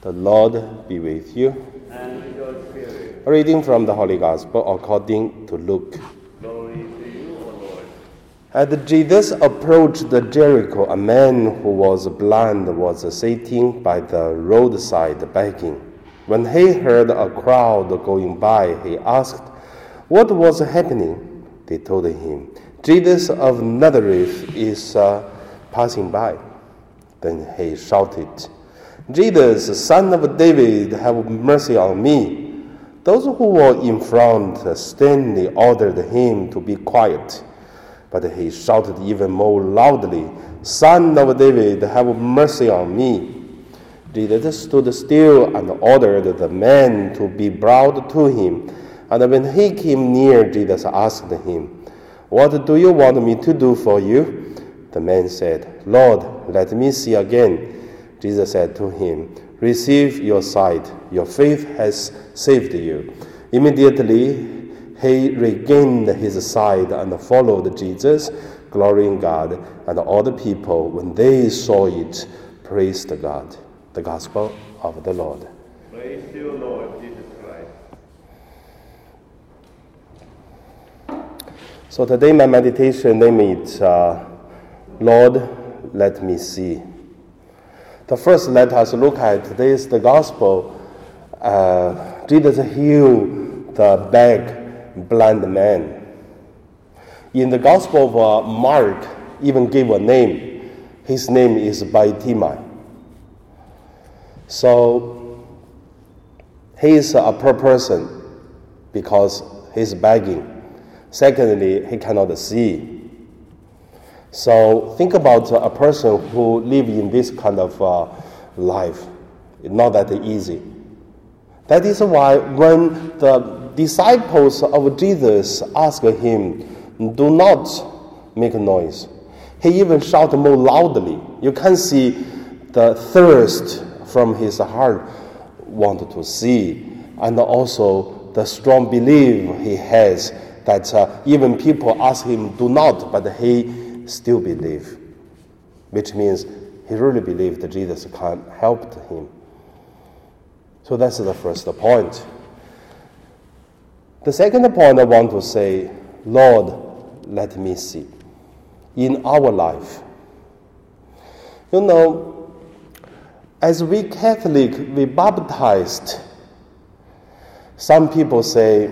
The Lord be with you. And with your spirit. A reading from the Holy Gospel according to Luke. Glory to you, O Lord. As Jesus approached Jericho, a man who was blind was sitting by the roadside begging. When he heard a crowd going by, he asked what was happening. They told him, Jesus of Nazareth is passing by. Then he shouted, Jesus, son of David, have mercy on me. Those who were in front sternly ordered him to be quiet. But he shouted even more loudly, Son of David, have mercy on me. Jesus stood still and ordered the man to be brought to him. And when he came near, Jesus asked him, What do you want me to do for you? The man said, Lord, let me see again. Jesus said to him, Receive your sight. Your faith has saved you. Immediately he regained his sight and followed Jesus, glorying God. And all the people, when they saw it, praised God. The Gospel of the Lord. Praise to you, Lord Jesus Christ. So today my meditation name is Lord, let me see. The first, let us look at today's the Gospel. Jesus healed the beggar, blind man. In the Gospel of Mark, even gave a name. His name is Bartimaeus. So he is a poor person because he's begging. Secondly, he cannot see. So think about a person who lives in this kind of life. It's not that easy. That is why when the disciples of Jesus asked him, do not make noise, he even shouted more loudly. You can see the thirst from his heart, wanted to see, and also the strong belief he has that even people ask him, do not, but he still believe, which means he really believed that Jesus can help him. So that's the first point. The second point I want to say, Lord, let me see. In our life, you know, as we Catholic, we baptized, some people say,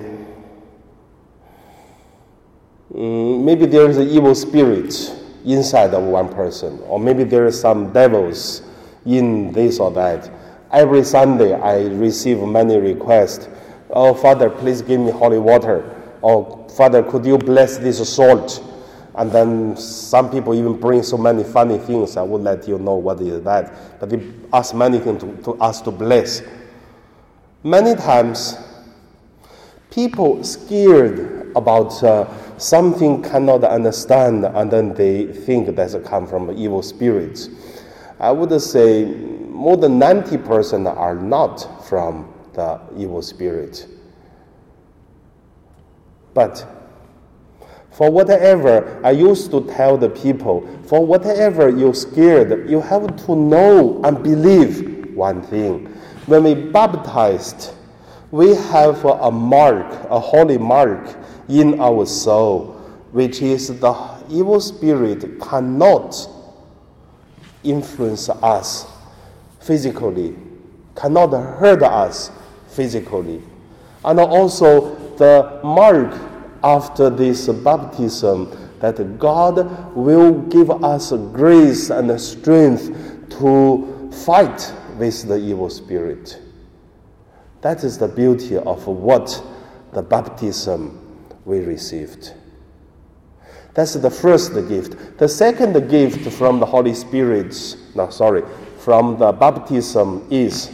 maybe there is an evil spirit inside of one person, or maybe there are some devils in this or that. Every Sunday I receive many requests. Oh, Father, please give me holy water. Oh, Father, could you bless this salt? And then some people even bring so many funny things. I will let you know what is that. But they ask many things to us to bless. Many times, people scared about something cannot understand, and then they think that's come from evil spirits. I would say more than 90% are not from the evil spirit. But for whatever, I used to tell the people, for whatever you're scared, you have to know and believe one thing. When we baptized, we have a mark, a holy mark in our soul, which is the evil spirit cannot influence us physically, cannot hurt us physically. And also the mark after this baptism that God will give us grace and strength to fight with the evil spirit. That is the beauty of what the baptism we received. That's the first gift. The second gift from the Holy Spirit, from the baptism is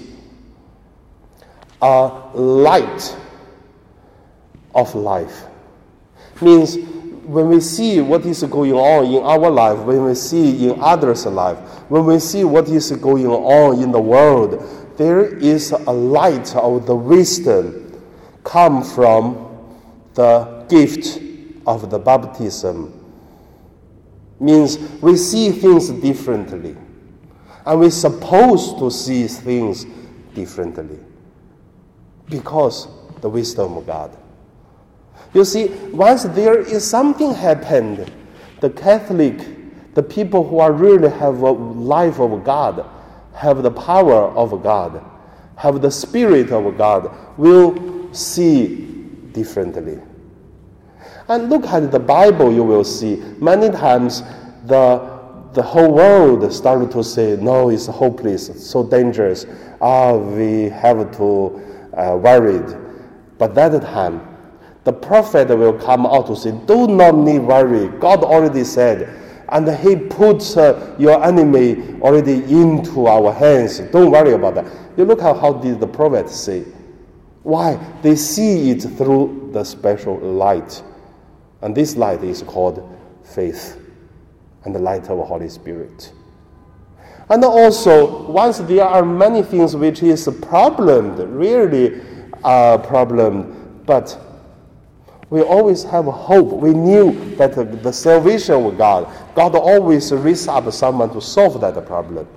a light of life. Means when we see what is going on in our life, when we see in others' life, when we see what is going on in the world, there is a light of the wisdom come from the gift of the baptism. Means we see things differently. And we're supposed to see things differently because the wisdom of God. You see, once there is something happened, the Catholic, the people who are really have a life of God, have the power of God, have the Spirit of God, will see differently. And look at the Bible, you will see many times the whole world started to say, no, it's hopeless, it's so dangerous. We have to worried. But that time, the prophet will come out to say, do not need worry. God already said, and he puts your enemy already into our hands. Don't worry about that. You look at how did the prophet say. Why? They see it through the special light. And this light is called faith and the light of the Holy Spirit. And also, once there are many things which is a problem, really a problem, but we always have hope. We knew that the salvation of God always raises up someone to solve that problem.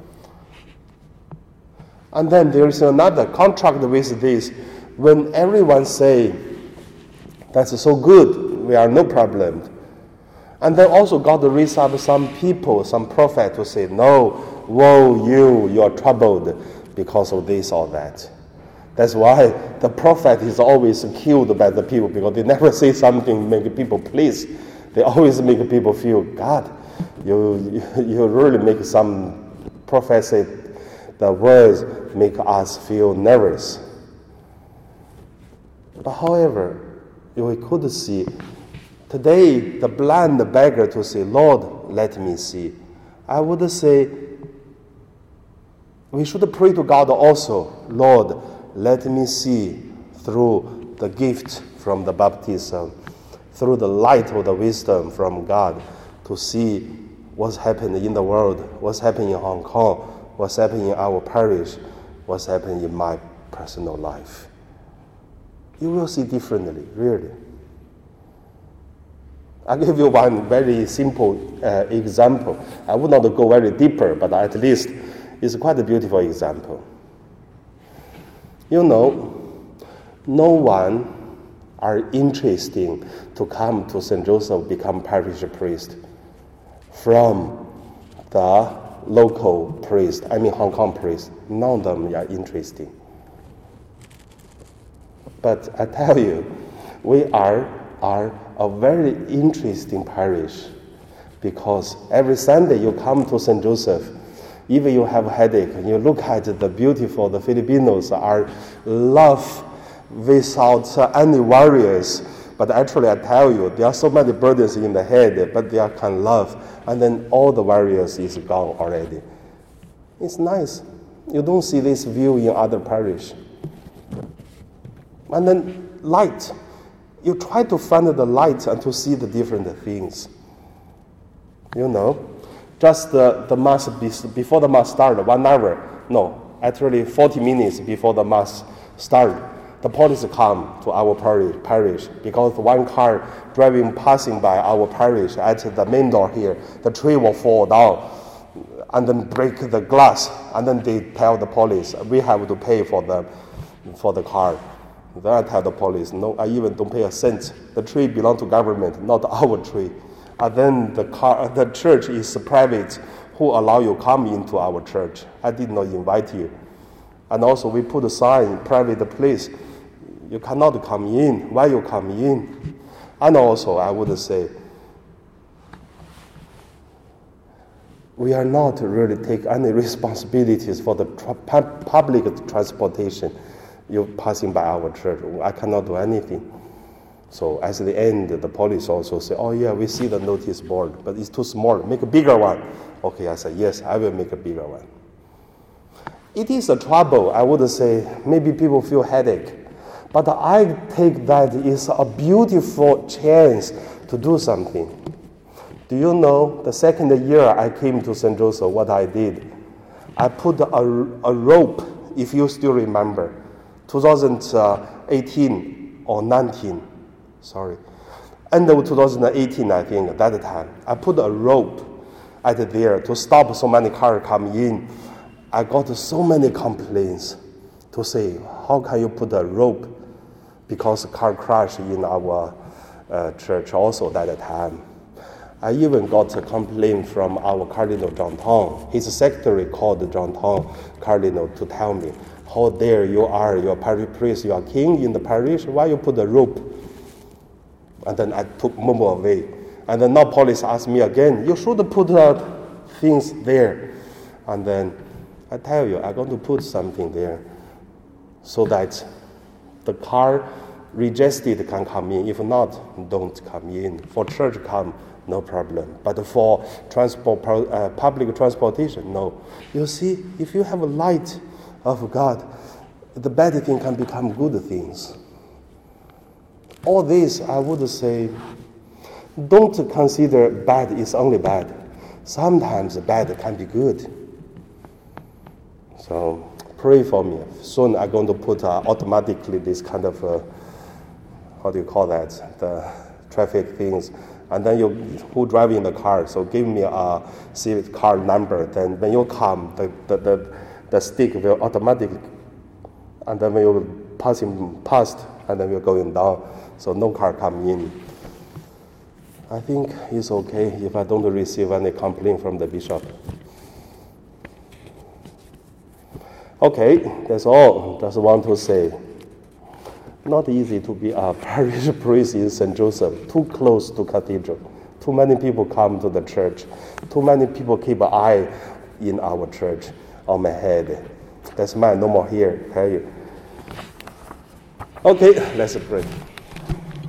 And then there is another contract with this. When everyone say, that's so good, we are no problem. And then also God raises up some people, some prophet to say, no, woe you are troubled because of this or that. That's why the prophet is always killed by the people, because they never say something make people please. They always make people feel, God, you really make some prophecy, the words make us feel nervous. But however, we could see, today the blind beggar to say, Lord, let me see. I would say, we should pray to God also, Lord, let me see through the gift from the baptism, through the light of the wisdom from God, to see what's happening in the world, what's happening in Hong Kong, what's happening in our parish, what's happening in my personal life. You will see differently, really. I'll give you one very simple example. I would not go very deeper, but at least it's quite a beautiful example. You know, no one are interested to come to St. Joseph, become parish priest from the local priest, Hong Kong priest. None of them are interested. But I tell you, we are a very interesting parish, because every Sunday you come to St. Joseph, even you have a headache, you look at the beautiful, the Filipinos are love without any worries. But actually I tell you, there are so many burdens in the head, but they can love. And then all the worries is gone already. It's nice. You don't see this view in other parish. And then light. You try to find the light and to see the different things. You know, just the mass, before the mass started, 1 hour, no, actually 40 minutes before the mass started, the police come to our parish because one car passing by our parish at the main door here, the tree will fall down and then break the glass, and then they tell the police, we have to pay for the car. Then I tell the police, no, I even don't pay a cent. The tree belongs to government, not our tree. And then the church is private. Who allow you come into our church? I did not invite you. And also we put a sign, private place. You cannot come in. Why you come in? And also I would say, we are not really take any responsibilities for the public transportation. You're passing by our church. I cannot do anything. So at the end, the police also say, oh yeah, we see the notice board, but it's too small. Make a bigger one. Okay, I say, yes, I will make a bigger one. It is a trouble. I would say maybe people feel headache. But I take that is a beautiful chance to do something. Do you know, the second year I came to St. Joseph, what I did? I put a rope, if you still remember, 2018 or 19, sorry. End of 2018, I think, at that time. I put a rope there to stop so many cars coming in. I got so many complaints. to say, how can you put a rope? Because car crash in our church also that time. I even got a complaint from our Cardinal John Tong. His secretary called John Tong Cardinal to tell me, how dare you are, you are parish priest, you are king in the parish, why you put a rope? And then I took Momo away. And then now police asked me again, you should put things there. And then I tell you, I'm going to put something there so that the car registered can come in. If not, don't come in. For church come, no problem. But for transport, public transportation, no. You see, if you have a light of God, the bad thing can become good things. All this, I would say, don't consider bad is only bad. Sometimes bad can be good. So pray for me. Soon I'm going to put automatically this kind of, how do you call that, the traffic things. And then who drive in the car, so give me a Civic car number. Then when you come, the stick will automatically, and then when you passing past, and then we're going down, so no car come in. I think it's okay if I don't receive any complaint from the bishop. Okay, that's all. Just want to say, not easy to be a parish priest in St. Joseph, too close to cathedral. Too many people come to the church. Too many people keep an eye in our church on my head. That's mine, no more here, tell you. Okay, let's pray.